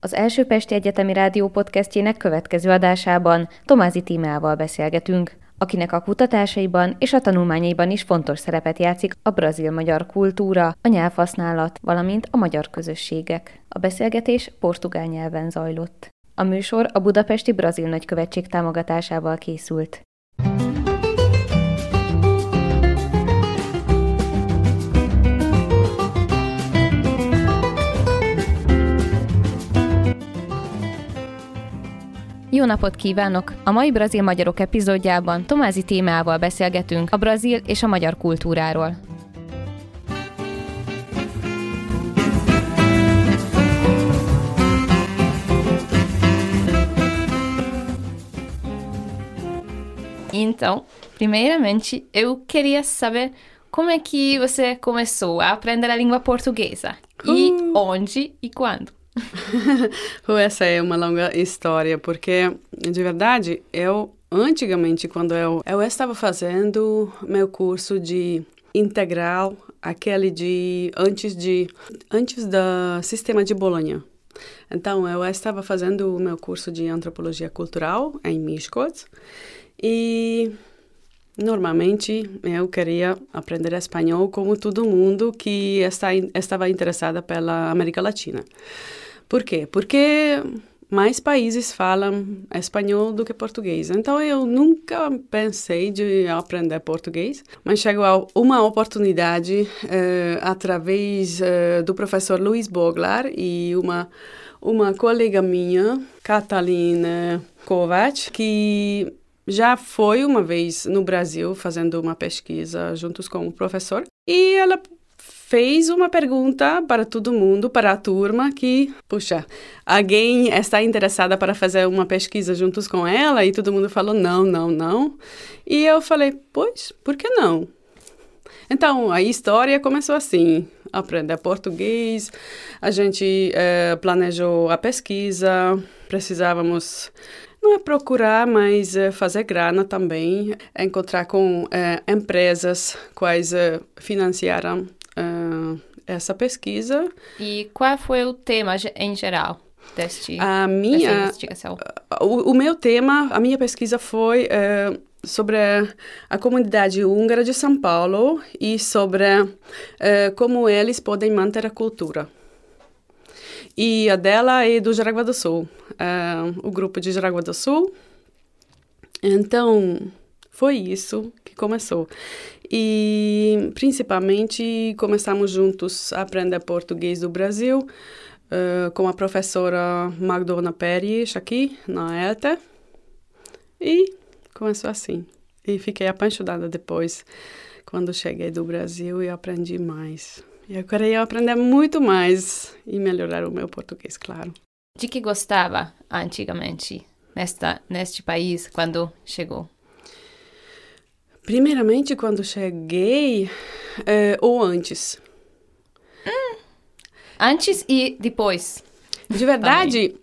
Az első Pesti Egyetemi Rádió podcastjének következő adásában Tomázy Tímeával beszélgetünk, akinek a kutatásaiban és a tanulmányaiban is fontos szerepet játszik a brazil-magyar kultúra, a nyelvhasználat, valamint a magyar közösségek. A beszélgetés portugál nyelven zajlott. A műsor a Budapesti Brazil Nagykövetség támogatásával készült. Jó napot kívánok! A mai Brazil Magyarok epizódjában Tomázy Tímeával beszélgetünk a brazil és a magyar kultúráról. Então, primeiramente, eu queria saber como é que você começou a aprender a língua portuguesa e onde e quando. Essa é uma longa história, porque, de verdade, antigamente, quando eu estava fazendo meu curso de integral, aquele antes do sistema de Bolonha. Então, eu estava fazendo o meu curso de antropologia cultural em Miskolc e normalmente eu queria aprender espanhol como todo mundo que estava interessada pela América Latina. Por quê? Porque mais países falam espanhol do que português. Então, eu nunca pensei de aprender português, mas chegou uma oportunidade através do professor Luiz Boglar e uma colega minha, Catalina Kovac, que já foi uma vez no Brasil fazendo uma pesquisa juntos com o professor e ela fez uma pergunta para todo mundo, para a turma, que, puxa, alguém está interessada para fazer uma pesquisa juntos com ela? E todo mundo falou não. E eu falei, pois, por que não? Então, a história começou assim, aprender português, a gente planejou a pesquisa, precisávamos não é procurar, mas fazer grana também, encontrar com empresas quais financiaram essa pesquisa. E qual foi o tema em geral dessa investigação? O meu tema, a minha pesquisa foi sobre a comunidade húngara de São Paulo e sobre como eles podem manter a cultura. E a dela é do Jaraguá do Sul, o grupo de Jaraguá do Sul. Então, foi isso que começou. E, principalmente, começamos juntos a aprender português do Brasil, com a professora Magdona Pérez, aqui na ETA. E começou assim. E fiquei apaixonada depois, quando cheguei do Brasil e aprendi mais. Eu queria aprender muito mais e melhorar o meu português, claro. De que gostava antigamente neste país, quando chegou? Primeiramente, quando cheguei, ou antes. Antes e depois? De verdade,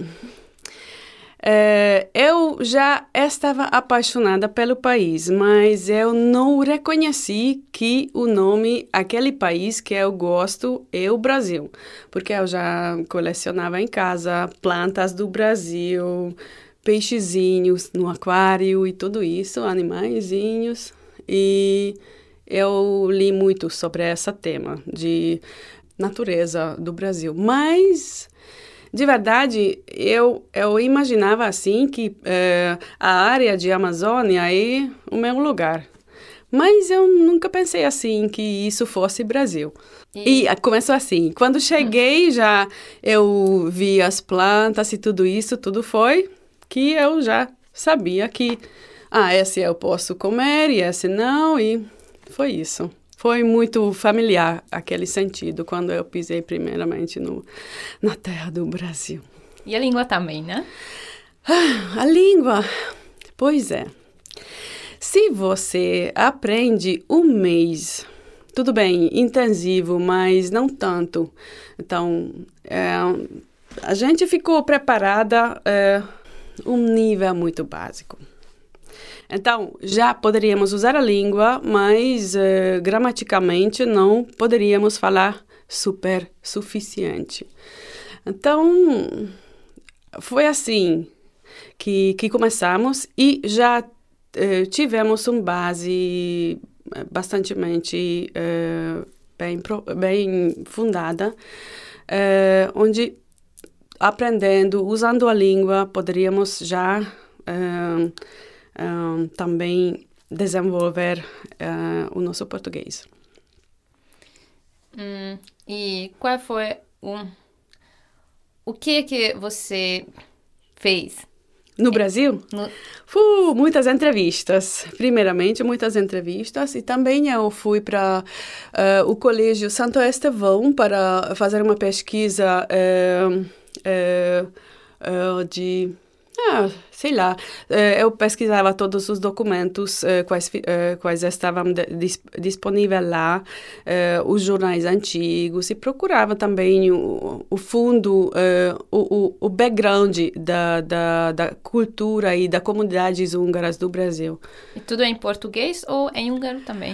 eu já estava apaixonada pelo país, mas eu não reconheci que o nome, aquele país que eu gosto é o Brasil. Porque eu já colecionava em casa plantas do Brasil, peixezinhos no aquário e tudo isso, animaizinhos. E eu li muito sobre esse tema de natureza do Brasil. Mas, de verdade, eu imaginava assim que a área de Amazônia é o meu lugar. Mas eu nunca pensei assim que isso fosse Brasil. E começou assim. Quando cheguei, já eu vi as plantas e tudo isso, tudo foi que eu já sabia que esse eu posso comer e esse não, e foi isso. Foi muito familiar aquele sentido quando eu pisei primeiramente na terra do Brasil. E a língua também, né? A língua, pois é. Se você aprende um mês, tudo bem, intensivo, mas não tanto. Então, a gente ficou preparada um nível muito básico. Então, já poderíamos usar a língua, mas gramaticalmente não poderíamos falar super suficiente. Então, foi assim que começamos e já tivemos uma base bastantemente bem fundada, onde aprendendo, usando a língua, poderíamos já também desenvolver o nosso português. E qual foi o que você fez? No Brasil? Muitas entrevistas. Primeiramente, muitas entrevistas. E também eu fui para o Colégio Santo Estevão para fazer uma pesquisa sei lá, eu pesquisava todos os documentos quais estavam disponíveis lá, os jornais antigos, e procurava também o fundo, o background da cultura e da comunidades húngaras do Brasil. E tudo em português ou em húngaro também?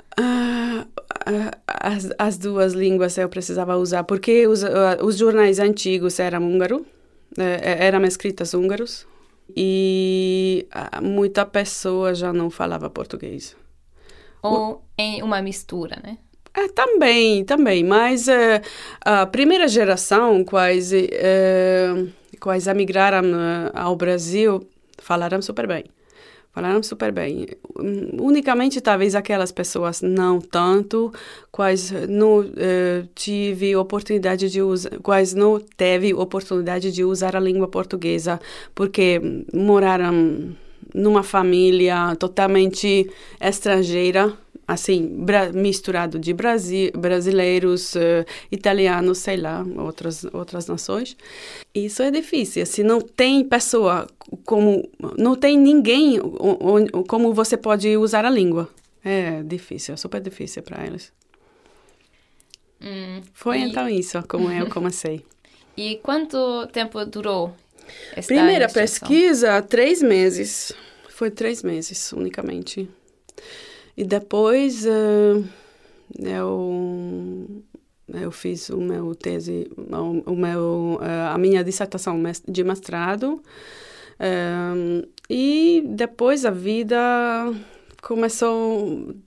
As duas línguas eu precisava usar, porque os jornais antigos eram húngaro, eram escritas húngaros, e muita pessoa já não falava português. Ou em uma mistura, né? Também, mas a primeira geração, quais emigraram ao Brasil, falaram super bem. Unicamente, talvez, aquelas pessoas não tanto, quais não teve oportunidade de usar, quais não teve oportunidade de usar a língua portuguesa, porque moraram numa família totalmente estrangeira, assim, misturado de brasileiros, italianos, sei lá, outras nações. Isso é difícil. Se não tem pessoa, não tem ninguém como você pode usar a língua. É difícil, é super difícil para eles. Foi então isso, como eu comecei. E quanto tempo durou esta Primeira pesquisa, 3 meses. Foi 3 meses, unicamente. E depois eu fiz o meu tese, a minha dissertação de mestrado, e depois a vida começou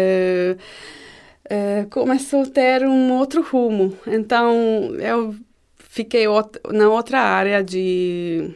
a ter um outro rumo. Então eu fiquei na outra área de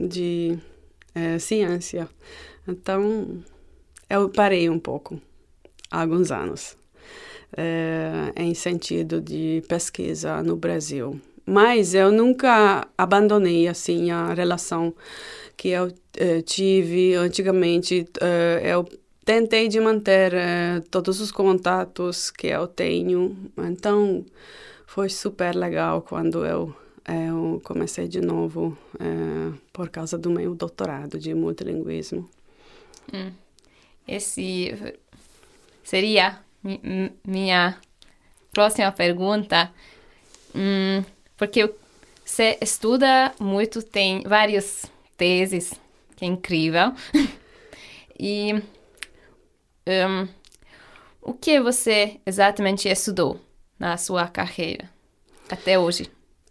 ciência. Então eu parei um pouco. Há alguns anos, em sentido de pesquisa no Brasil. Mas eu nunca abandonei, assim, a relação que eu tive antigamente. Eu tentei de manter todos os contatos que eu tenho. Então, foi super legal quando eu comecei de novo por causa do meu doutorado de multilinguismo. Esse seria minha próxima pergunta, porque você estuda muito, tem várias teses, que é incrível. E o que você exatamente estudou na sua carreira até hoje?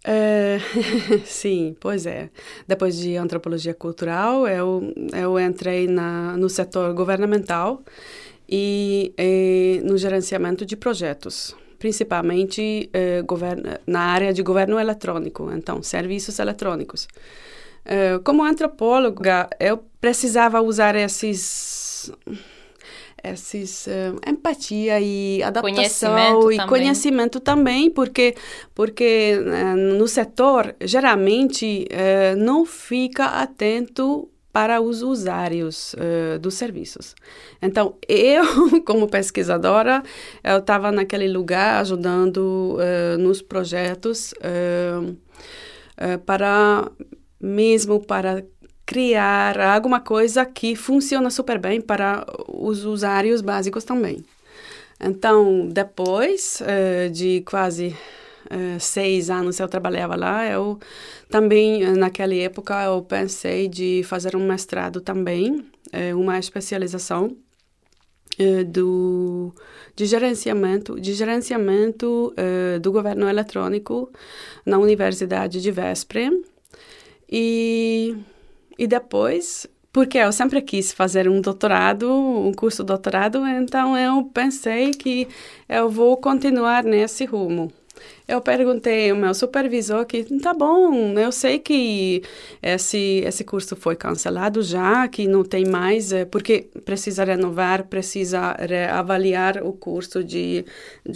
Sim, pois é. Depois de antropologia cultural, eu entrei no setor governamental e no gerenciamento de projetos, principalmente na área de governo eletrônico, então, serviços eletrônicos. Como antropóloga, eu precisava usar esses empatia e adaptação e conhecimento também, porque no setor, geralmente, não fica atento para os usuários dos serviços. Então, eu, como pesquisadora, eu estava naquele lugar ajudando nos projetos para criar alguma coisa que funciona super bem para os usuários básicos também. Então, depois de quase 6 anos eu trabalhava lá, eu também, naquela época, eu pensei de fazer um mestrado também, uma especialização de gerenciamento do governo eletrônico na Universidade de Veszprém. E depois, porque eu sempre quis fazer um doutorado, um curso de doutorado, então eu pensei que eu vou continuar nesse rumo. Eu perguntei ao meu supervisor que, tá bom, eu sei que esse curso foi cancelado já, que não tem mais, porque precisa renovar, precisa reavaliar o curso de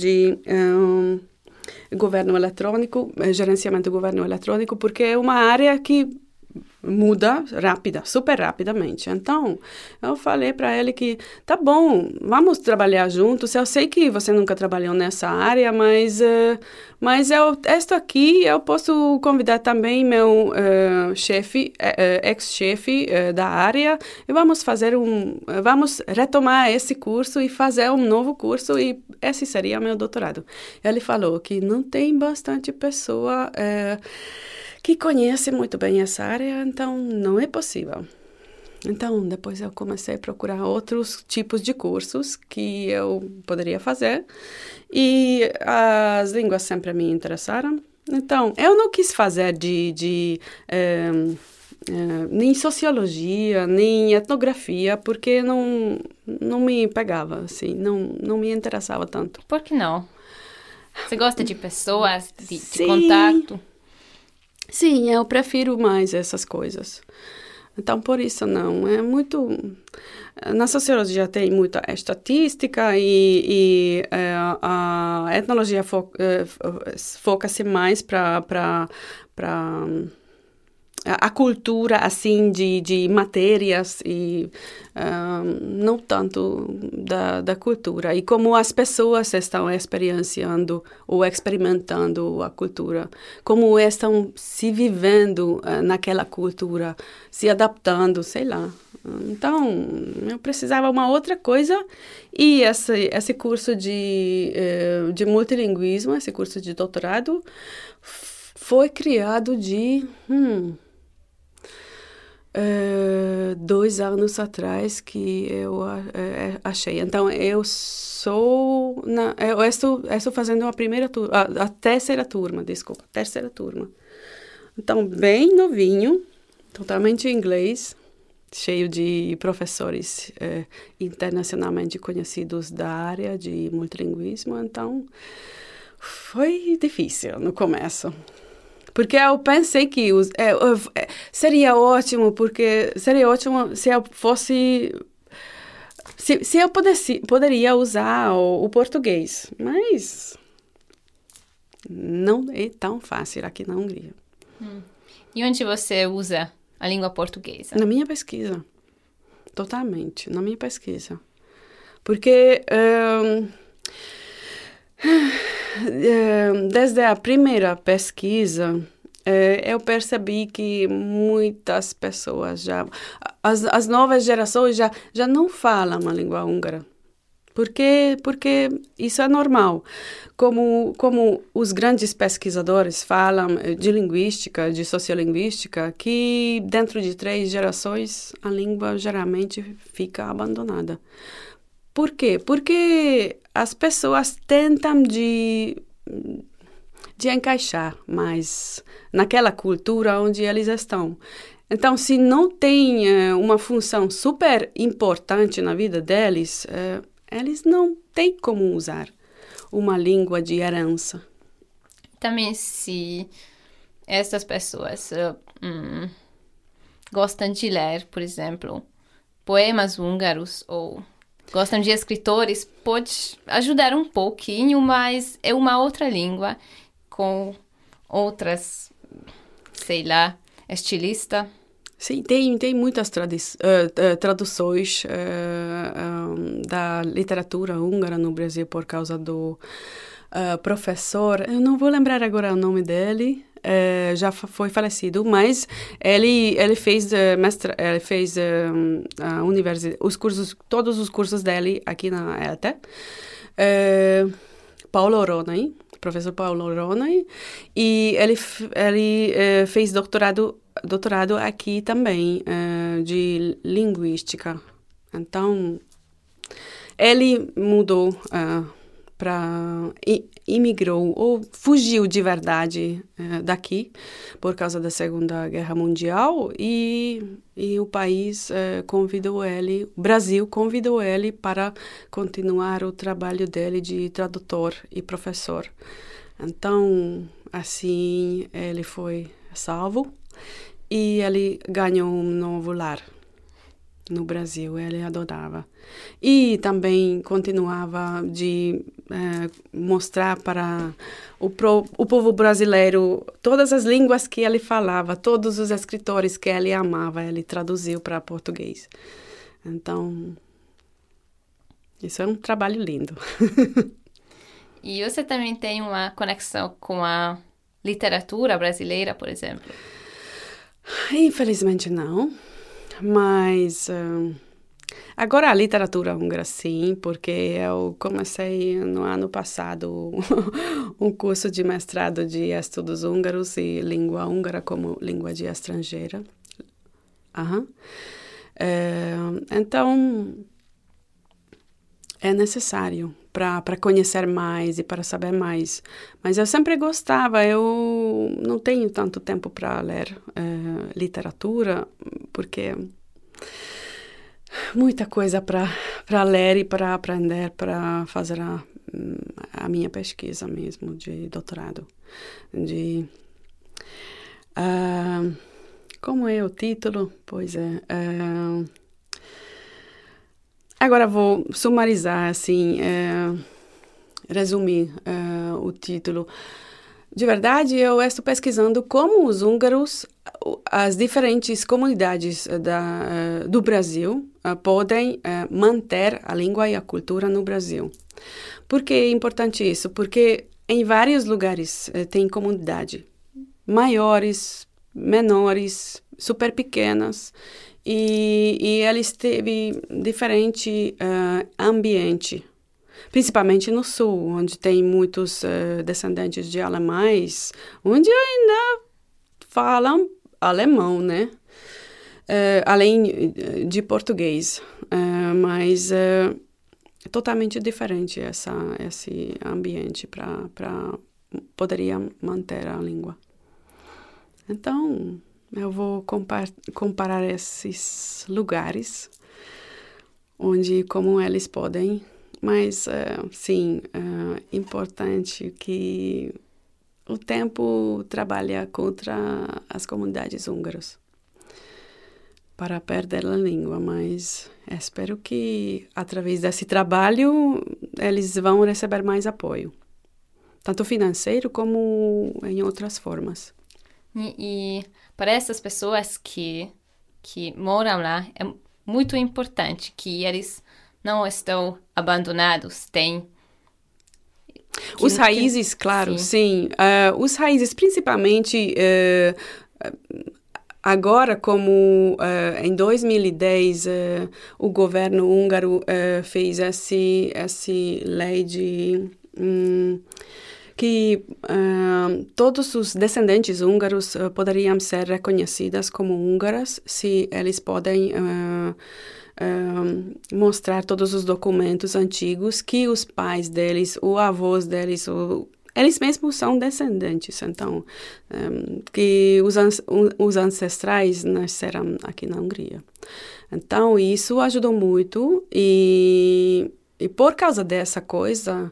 governo eletrônico, gerenciamento do governo eletrônico, porque é uma área que muda super rapidamente. Então, eu falei para ele que, tá bom, vamos trabalhar juntos. Eu sei que você nunca trabalhou nessa área, mas eu estou aqui, eu posso convidar também meu ex-chefe da área e vamos retomar esse curso e fazer um novo curso e esse seria meu doutorado. Ele falou que não tem bastante pessoa que conhece muito bem essa área, então não é possível. Então, depois eu comecei a procurar outros tipos de cursos que eu poderia fazer e as línguas sempre me interessaram. Então, eu não quis fazer nem sociologia, nem etnografia, porque não me pegava, assim, não me interessava tanto. Por que não? Você gosta de pessoas, de contato? Sim, eu prefiro mais essas coisas. Então, por isso não. É muito... Na sociologia tem muita estatística e a etnologia foca-se mais para a cultura, assim, de matérias e não tanto da cultura. E como as pessoas estão experienciando ou experimentando a cultura, como estão se vivendo naquela cultura, se adaptando, sei lá. Então, eu precisava uma outra coisa e esse curso de multilinguismo, esse curso de doutorado, foi criado de... 2 anos atrás que eu achei. Então, eu estou fazendo a terceira turma. Então, bem novinho, totalmente em inglês, cheio de professores internacionalmente conhecidos da área de multilinguismo. Então, foi difícil no começo. Porque eu pensei que seria ótimo se eu fosse... Se eu poderia usar o português, mas não é tão fácil aqui na Hungria. E onde você usa a língua portuguesa? Na minha pesquisa, totalmente, na minha pesquisa. Porque... desde a primeira pesquisa, eu percebi que muitas pessoas as novas gerações já não falam a língua húngara. Porque isso é normal. Como os grandes pesquisadores falam de linguística, de sociolinguística, que dentro de 3 gerações a língua geralmente fica abandonada. Por quê? Porque as pessoas tentam de encaixar mais naquela cultura onde eles estão. Então, se não tem uma função super importante na vida deles, eles não têm como usar uma língua de herança. Também se essas pessoas gostam de ler, por exemplo, poemas húngaros ou gostam de escritores, pode ajudar um pouquinho, mas é uma outra língua com outras, sei lá, estilista. Sim, tem muitas traduções da literatura húngara no Brasil por causa do professor, eu não vou lembrar agora o nome dele, já foi falecido, mas ele fez a universidade, todos os cursos dele aqui na ELTE. Paulo Ronay, professor Paulo Ronay, e ele fez doutorado aqui também, de linguística. Então, ele mudou imigrou ou fugiu de verdade daqui por causa da Segunda Guerra Mundial e o país convidou ele, o Brasil convidou ele para continuar o trabalho dele de tradutor e professor. Então, assim, ele foi salvo e ele ganhou um novo lar no Brasil, ele adorava. E também continuava de mostrar para o povo brasileiro todas as línguas que ele falava, todos os escritores que ele amava, ele traduziu para português. Então, isso é um trabalho lindo. E você também tem uma conexão com a literatura brasileira, por exemplo? Infelizmente não. Mas agora a literatura húngara sim, porque eu comecei no ano passado um curso de mestrado de estudos húngaros e língua húngara como língua de estrangeira. Então, é necessário para conhecer mais e para saber mais. Mas eu sempre gostava, eu não tenho tanto tempo para ler literatura, porque muita coisa para ler e para aprender, para fazer a minha pesquisa mesmo de doutorado. Como é o título? Pois é... Agora vou sumarizar, assim, resumir o título. De verdade, eu estou pesquisando como os húngaros, as diferentes comunidades do Brasil, podem manter a língua e a cultura no Brasil. Por que é importante isso? Porque em vários lugares tem comunidade, maiores, menores, super pequenas, e eles teve diferente ambiente, principalmente no sul, onde tem muitos descendentes de alemães, onde ainda falam alemão, né? Além de português, mas é totalmente diferente esse ambiente para poderia manter a língua. Então, eu vou comparar esses lugares, onde como eles podem, mas sim, é importante que o tempo trabalha contra as comunidades húngaras para perder a língua, mas espero que através desse trabalho eles vão receber mais apoio, tanto financeiro como em outras formas. E para essas pessoas que moram lá, é muito importante que eles não estão abandonados, os raízes, claro, sim. Os raízes, principalmente, agora, como em 2010, o governo húngaro fez essa lei de... que todos os descendentes húngaros poderiam ser reconhecidas como húngaras se eles podem mostrar todos os documentos antigos que os pais deles, os avós deles, eles mesmos são descendentes. Então, que os ancestrais nasceram aqui na Hungria. Então, isso ajudou muito e por causa dessa coisa...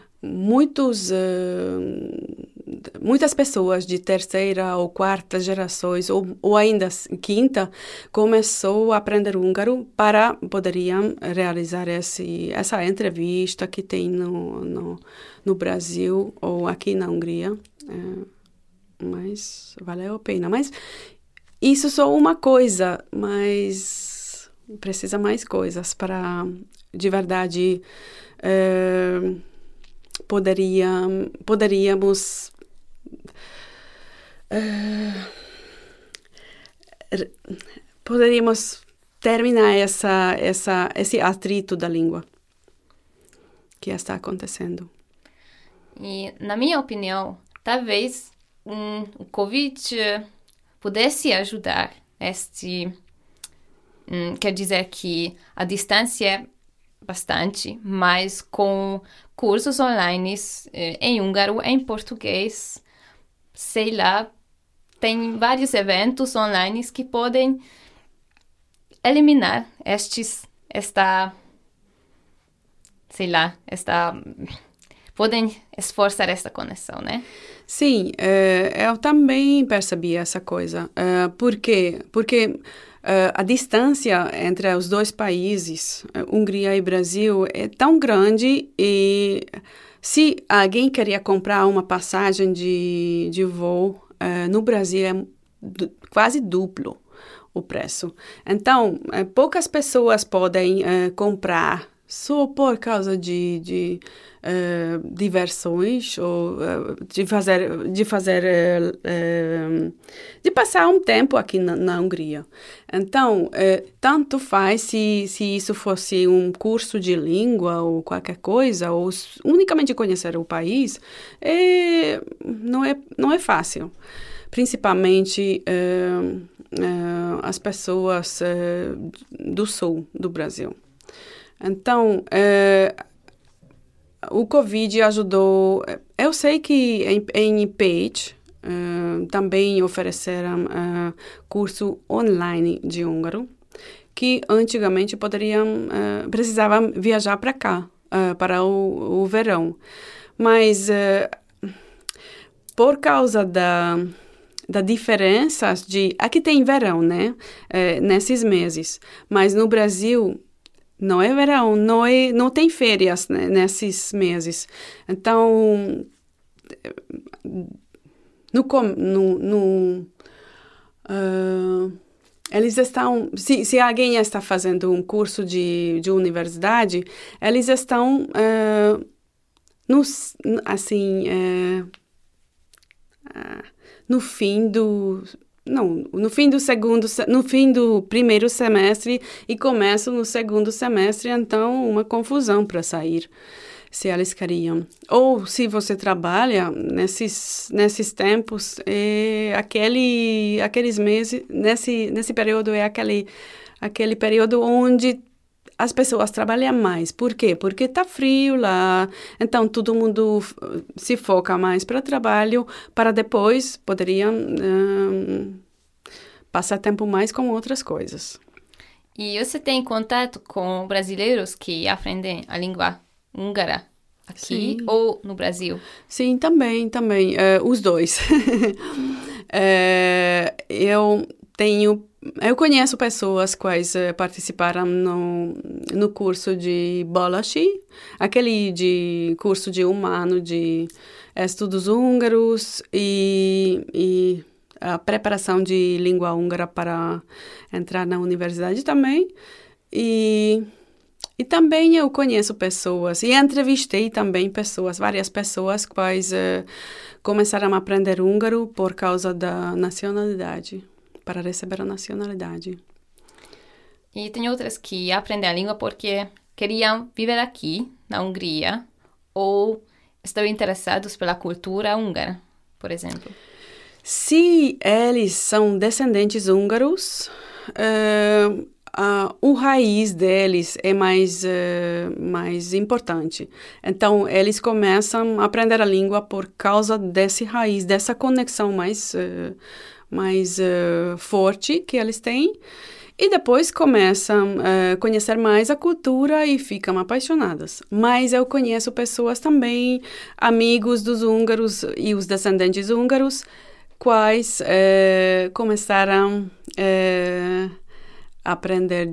Muitas pessoas de terceira ou quarta gerações, ou ainda quinta, começou a aprender húngaro para poderiam realizar essa entrevista que tem no Brasil ou aqui na Hungria. Mas valeu a pena. Mas isso só uma coisa, mas precisa mais coisas para, de verdade... Poderíamos terminar esse atrito da língua que está acontecendo. E, na minha opinião, talvez o Covid pudesse ajudar quer dizer que a distância bastante, mas com cursos online em húngaro, em português, sei lá, tem vários eventos online que podem eliminar podem esforçar esta conexão, né? Sim, eu também percebi essa coisa. Por quê? Porque a distância entre os dois países, Hungria e Brasil, é tão grande e se alguém queria comprar uma passagem de voo, no Brasil é quase duplo o preço. Então, poucas pessoas podem comprar só por causa de diversões ou de passar um tempo aqui na Hungria. Então, tanto faz se isso fosse um curso de língua ou qualquer coisa, ou unicamente conhecer o país, não é fácil. Principalmente as pessoas do sul do Brasil. Então, o Covid ajudou. Eu sei que em Pécs também ofereceram curso online de húngaro, que antigamente precisavam viajar para cá, para o verão. Mas, por causa da diferença aqui tem verão, né? Nesses meses. Mas no Brasil não é verão, não tem férias, né, nesses meses. Então, eles estão... Se alguém está fazendo um curso de universidade, eles estão no fim do primeiro semestre e começam no segundo semestre, então uma confusão para sair, se eles queriam. Ou se você trabalha nesses tempos, aqueles meses, nesse período é aquele período onde as pessoas trabalham mais. Por quê? Porque está frio lá, então todo mundo se foca mais para o trabalho, para depois poderiam passar tempo mais com outras coisas. E você tem contato com brasileiros que aprendem a língua húngara aqui ou no Brasil? Sim, também, os dois. Eu conheço pessoas quais participaram no curso de Bolachi, aquele de curso de 1 ano de estudos húngaros e a preparação de língua húngara para entrar na universidade também. E também eu conheço pessoas e entrevistei também várias pessoas quais começaram a aprender húngaro por causa da nacionalidade, para receber a nacionalidade. E tem outras que aprendem a língua porque queriam viver aqui, na Hungria, ou estão interessados pela cultura húngara, por exemplo. Se eles são descendentes húngaros, o raiz deles é mais importante. Então, eles começam a aprender a língua por causa desse raiz, dessa conexão mais forte que eles têm. E depois começam a conhecer mais a cultura e ficam apaixonadas. Mas eu conheço pessoas também, amigos dos húngaros e os descendentes húngaros, quais começaram a aprender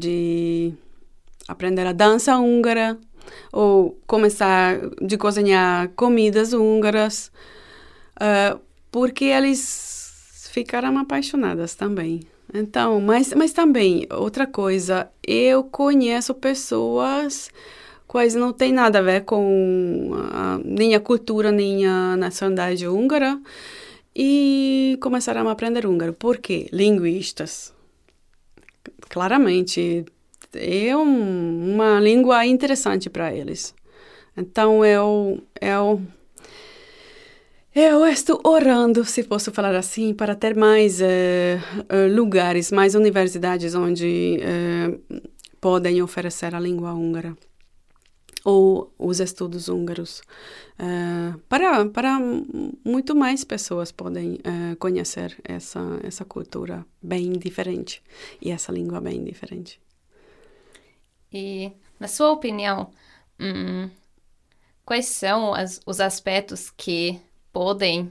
a dança húngara ou começar a cozinhar comidas húngaras, porque eles ficaram apaixonadas também. Então, mas também, outra coisa, eu conheço pessoas quais não tem nada a ver com nem a cultura, nem a nacionalidade húngara, e começaram a aprender húngaro. Por quê? Linguistas. Claramente, é uma língua interessante para eles. Então, eu estou orando, se posso falar assim, para ter mais lugares, mais universidades onde podem oferecer a língua húngara. ou os estudos húngaros, para muito mais pessoas podem conhecer essa cultura bem diferente e essa língua bem diferente. E, na sua opinião, quais são os aspectos que podem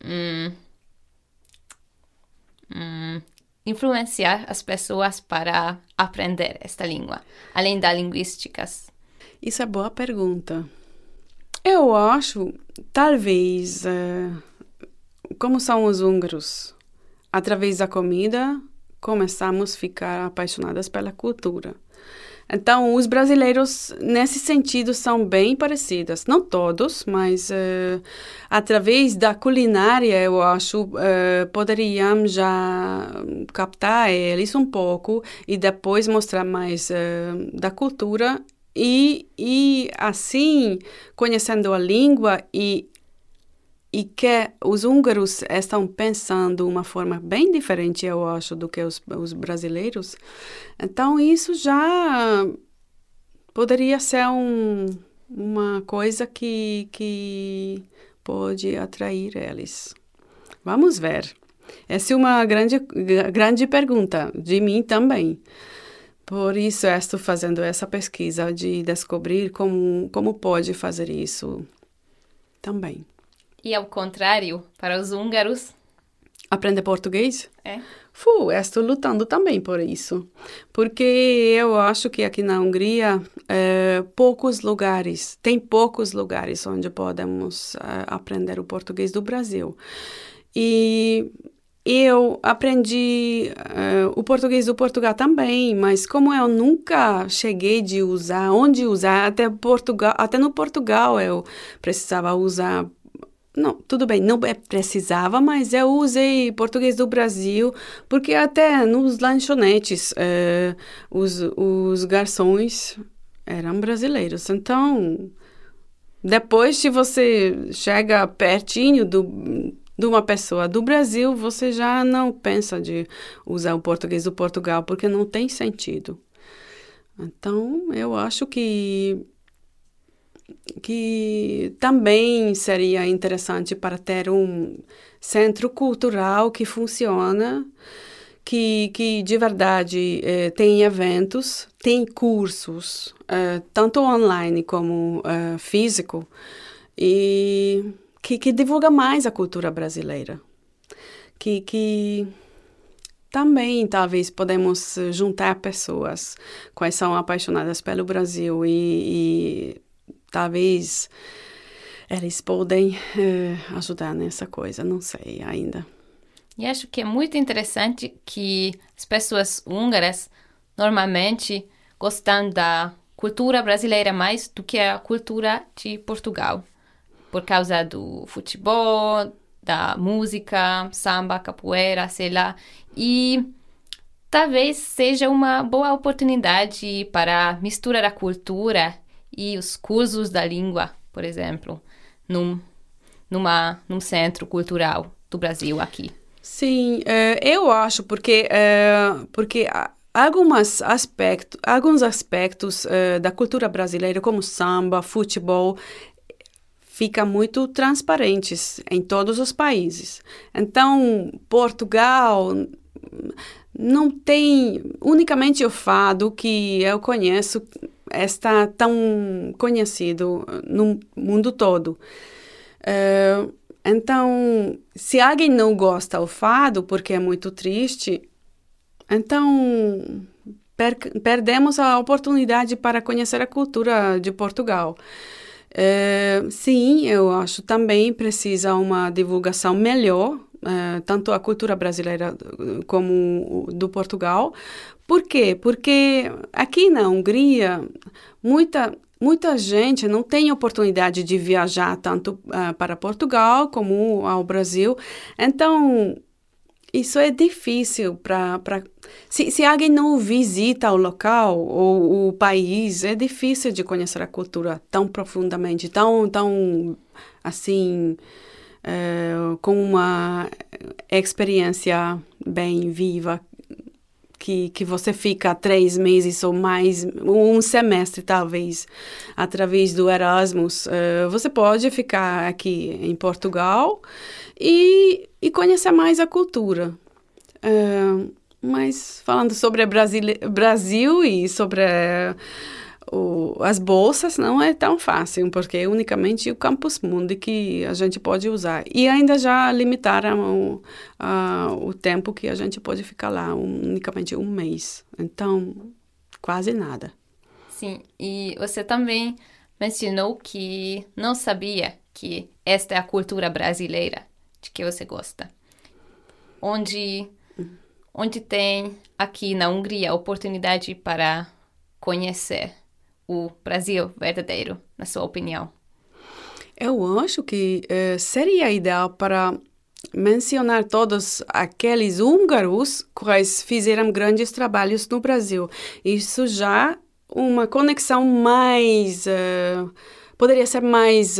influenciar as pessoas para aprender esta língua, além das linguísticas? Isso é boa pergunta. Eu acho, talvez, como são os húngaros, através da comida, começamos a ficar apaixonadas pela cultura. Então, os brasileiros, nesse sentido, são bem parecidos. Não todos, mas através da culinária, eu acho, poderíamos já captar eles um pouco e depois mostrar mais da cultura. E assim, conhecendo a língua e que os húngaros estão pensando de uma forma bem diferente, eu acho, do que os brasileiros. Então, isso já poderia ser uma coisa que pode atrair eles. Vamos ver. Essa é uma grande pergunta de mim também. Por isso, eu estou fazendo essa pesquisa de descobrir como pode fazer isso também. E ao contrário, para os húngaros? Aprender português? É. Estou lutando também por isso. Porque eu acho que aqui na Hungria, tem poucos lugares onde podemos aprender o português do Brasil. E eu aprendi o português do Portugal também, mas como eu nunca cheguei de usar, onde usar, até no Portugal eu precisava usar. Não, tudo bem, não precisava, mas eu usei português do Brasil, porque até nos lanchonetes os garçons eram brasileiros. Então, depois, se você chega pertinho de uma pessoa do Brasil, você já não pensa de usar o português do Portugal, porque não tem sentido. Então, eu acho que também seria interessante para ter um centro cultural que funciona, que de verdade tem eventos, tem cursos, tanto online como físico, e que divulga mais a cultura brasileira. Que também, talvez, podemos juntar pessoas que são apaixonadas pelo Brasil e talvez eles podem ajudar nessa coisa, não sei ainda. E acho que é muito interessante que as pessoas húngaras normalmente gostam da cultura brasileira mais do que a cultura de Portugal, por causa do futebol, da música, samba, capoeira, sei lá. E talvez seja uma boa oportunidade para misturar a cultura e os cursos da língua, por exemplo, num centro cultural do Brasil aqui. Sim, eu acho, porque alguns aspectos da cultura brasileira, como samba, futebol, ficam muito transparentes em todos os países. Então, Portugal não tem unicamente o fado que eu conheço, está tão conhecido no mundo todo. Então, se alguém não gosta do fado, porque é muito triste, então perdemos a oportunidade para conhecer a cultura de Portugal. Sim, eu acho também precisa uma divulgação melhor, tanto a cultura brasileira como do Portugal. Por quê? Porque aqui na Hungria, muita gente não tem oportunidade de viajar tanto para Portugal como ao Brasil. Então, isso é difícil se alguém não visita o local ou o país, é difícil de conhecer a cultura tão profundamente, tão assim, com uma experiência bem viva, que você fica 3 meses ou mais, um semestre talvez, através do Erasmus. Você pode ficar aqui em Portugal e conhecer mais a cultura. Mas falando sobre Brasil e sobre as bolsas, não é tão fácil, porque é unicamente o Campus Mundi que a gente pode usar. E ainda já limitaram o tempo que a gente pode ficar lá, unicamente um mês. Então, quase nada. Sim, e você também mencionou que não sabia que esta é a cultura brasileira de que você gosta. Onde tem aqui na Hungria oportunidade para conhecer o Brasil verdadeiro, na sua opinião? Eu acho que seria ideal para mencionar todos aqueles húngaros que fizeram grandes trabalhos no Brasil. Isso já uma conexão mais... poderia ser mais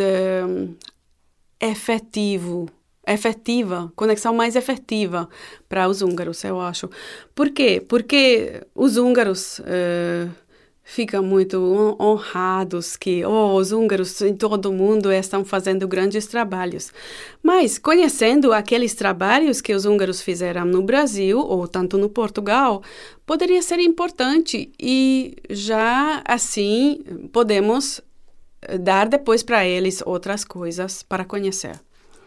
efetiva, conexão mais efetiva para os húngaros, eu acho. Por quê? Porque os húngaros ficam muito honrados que os húngaros em todo o mundo estão fazendo grandes trabalhos. Mas, conhecendo aqueles trabalhos que os húngaros fizeram no Brasil, ou tanto no Portugal, poderia ser importante e já assim podemos dar depois para eles outras coisas para conhecer.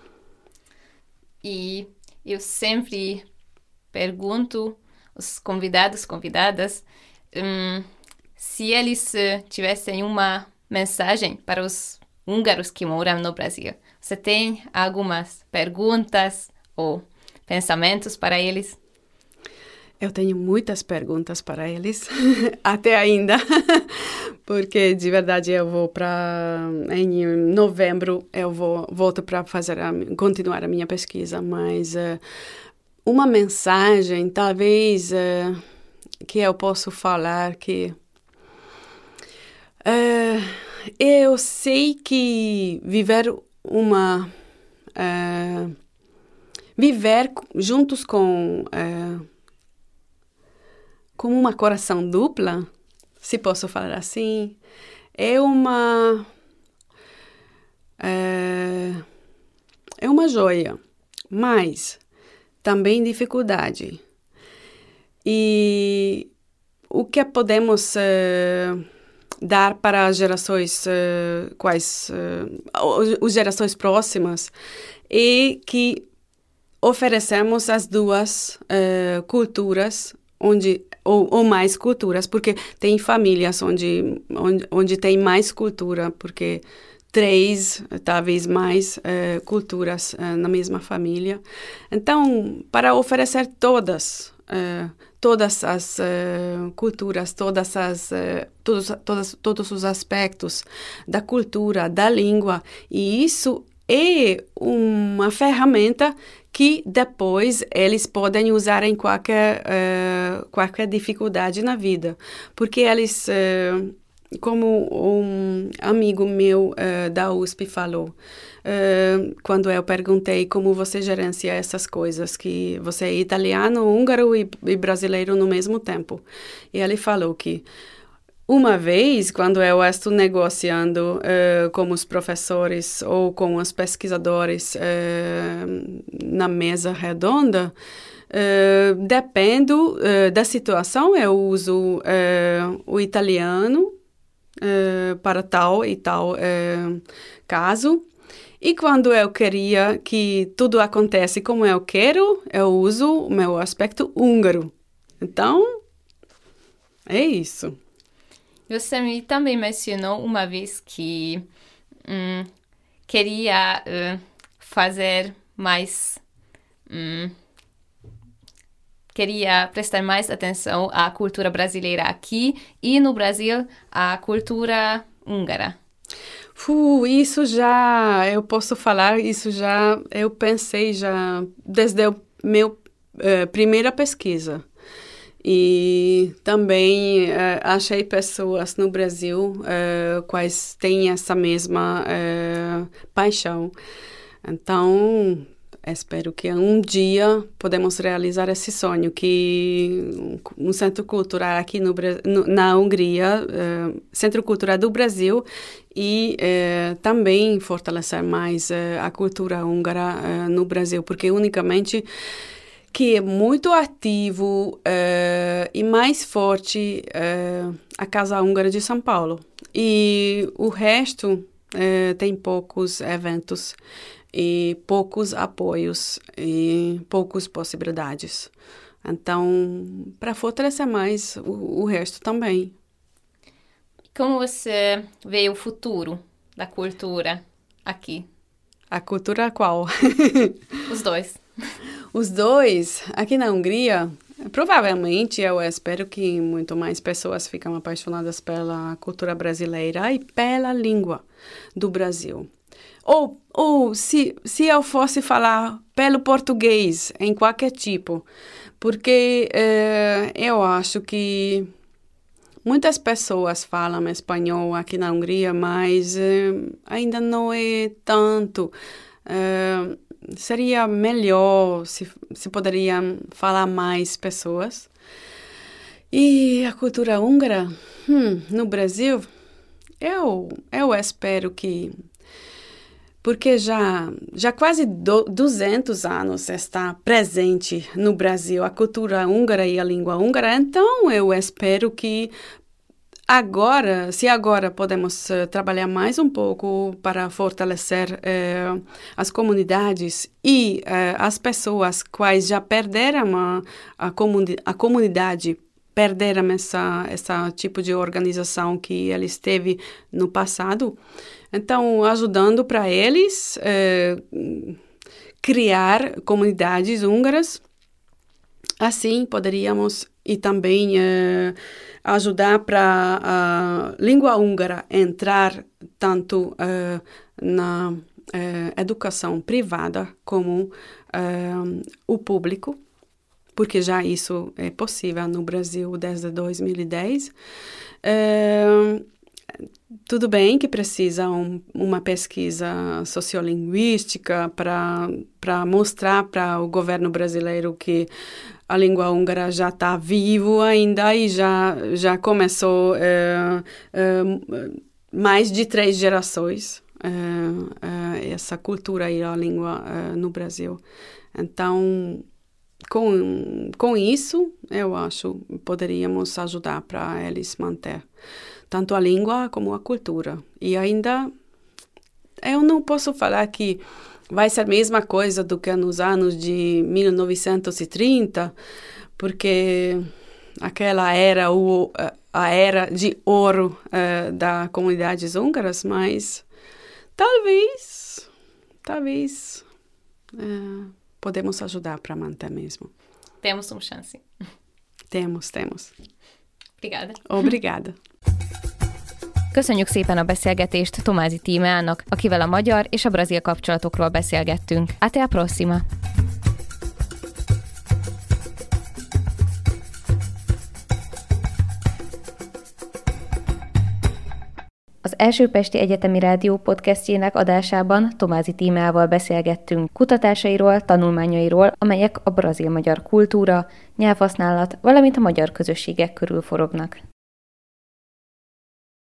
E eu sempre pergunto aos convidadas, se eles tivessem uma mensagem para os húngaros que moram no Brasil. Você tem algumas perguntas ou pensamentos para eles? Eu tenho muitas perguntas para eles, até ainda, porque de verdade eu vou em novembro eu volto para continuar a minha pesquisa, mas uma mensagem talvez que eu posso falar que eu sei que viver juntos com como uma coração dupla, se posso falar assim, é uma joia, mas também dificuldade. E o que podemos dar para as gerações as gerações próximas é que oferecemos as duas culturas ou mais culturas, porque tem famílias onde tem mais cultura, porque 3, talvez mais culturas na mesma família. Então, para oferecer todas as culturas, todos os aspectos da cultura, da língua, e isso é uma ferramenta que depois eles podem usar em qualquer dificuldade na vida. Porque eles, como um amigo meu da USP falou, quando eu perguntei como você gerencia essas coisas, que você é italiano, húngaro e brasileiro no mesmo tempo. E ele falou que uma vez, quando eu estou negociando com os professores ou com os pesquisadores na mesa redonda, dependo da situação, eu uso o italiano para tal e tal caso. E quando eu queria que tudo acontece como eu quero, eu uso o meu aspecto húngaro. Então, é isso. Você me também mencionou uma vez que queria fazer mais... queria prestar mais atenção à cultura brasileira aqui e no Brasil à cultura húngara. Isso já, eu posso falar, isso já, eu pensei já desde a minha primeira pesquisa. E também achei pessoas no Brasil quais têm essa mesma paixão. Então, espero que um dia podemos realizar esse sonho, que um centro cultural aqui na Hungria, Centro Cultural do Brasil, e também fortalecer mais a cultura húngara no Brasil, porque unicamente que é muito ativo e mais forte a Casa Húngara de São Paulo. E o resto tem poucos eventos e poucos apoios e poucas possibilidades. Então, para fortalecer mais o resto também. Como você vê o futuro da cultura aqui? A cultura qual? Os dois. Os dois, aqui na Hungria, provavelmente eu espero que muito mais pessoas ficam apaixonadas pela cultura brasileira e pela língua do Brasil. Ou se eu fosse falar pelo português, em qualquer tipo, porque eu acho que muitas pessoas falam espanhol aqui na Hungria, mas ainda não é tanto. Seria melhor se poderiam falar mais pessoas. E a cultura húngara, no Brasil, eu espero que... Porque já quase 200 anos está presente no Brasil a cultura húngara e a língua húngara, então eu espero que se agora podemos trabalhar mais um pouco para fortalecer as comunidades e as pessoas quais já perderam a comunidade, perderam essa tipo de organização que eles teve no passado. Então, ajudando para eles criar comunidades húngaras, assim poderíamos e também ajudar para a língua húngara entrar tanto na educação privada como o público, porque já isso é possível no Brasil desde 2010. Tudo bem que precisa uma pesquisa sociolinguística para mostrar para o governo brasileiro que a língua húngara já está vivo ainda e já começou mais de 3 gerações essa cultura e a língua no Brasil. Então, com isso, eu acho que poderíamos ajudar para eles manter tanto a língua como a cultura. E ainda, eu não posso falar que vai ser a mesma coisa do que nos anos de 1930, porque aquela era a era de ouro das comunidades húngaras, mas talvez podemos ajudar para manter mesmo. Temos uma chance. Temos. Obrigada. Köszönjük szépen a beszélgetést Tomázi Tímeának, akivel a magyar és a brazil kapcsolatokról beszélgettünk. Até a próxima! Az Első Pesti Egyetemi Rádió podcastjének adásában Tomázi Tímeával beszélgettünk kutatásairól, tanulmányairól, amelyek a brazil-magyar kultúra, nyelvhasználat, valamint a magyar közösségek körül forognak.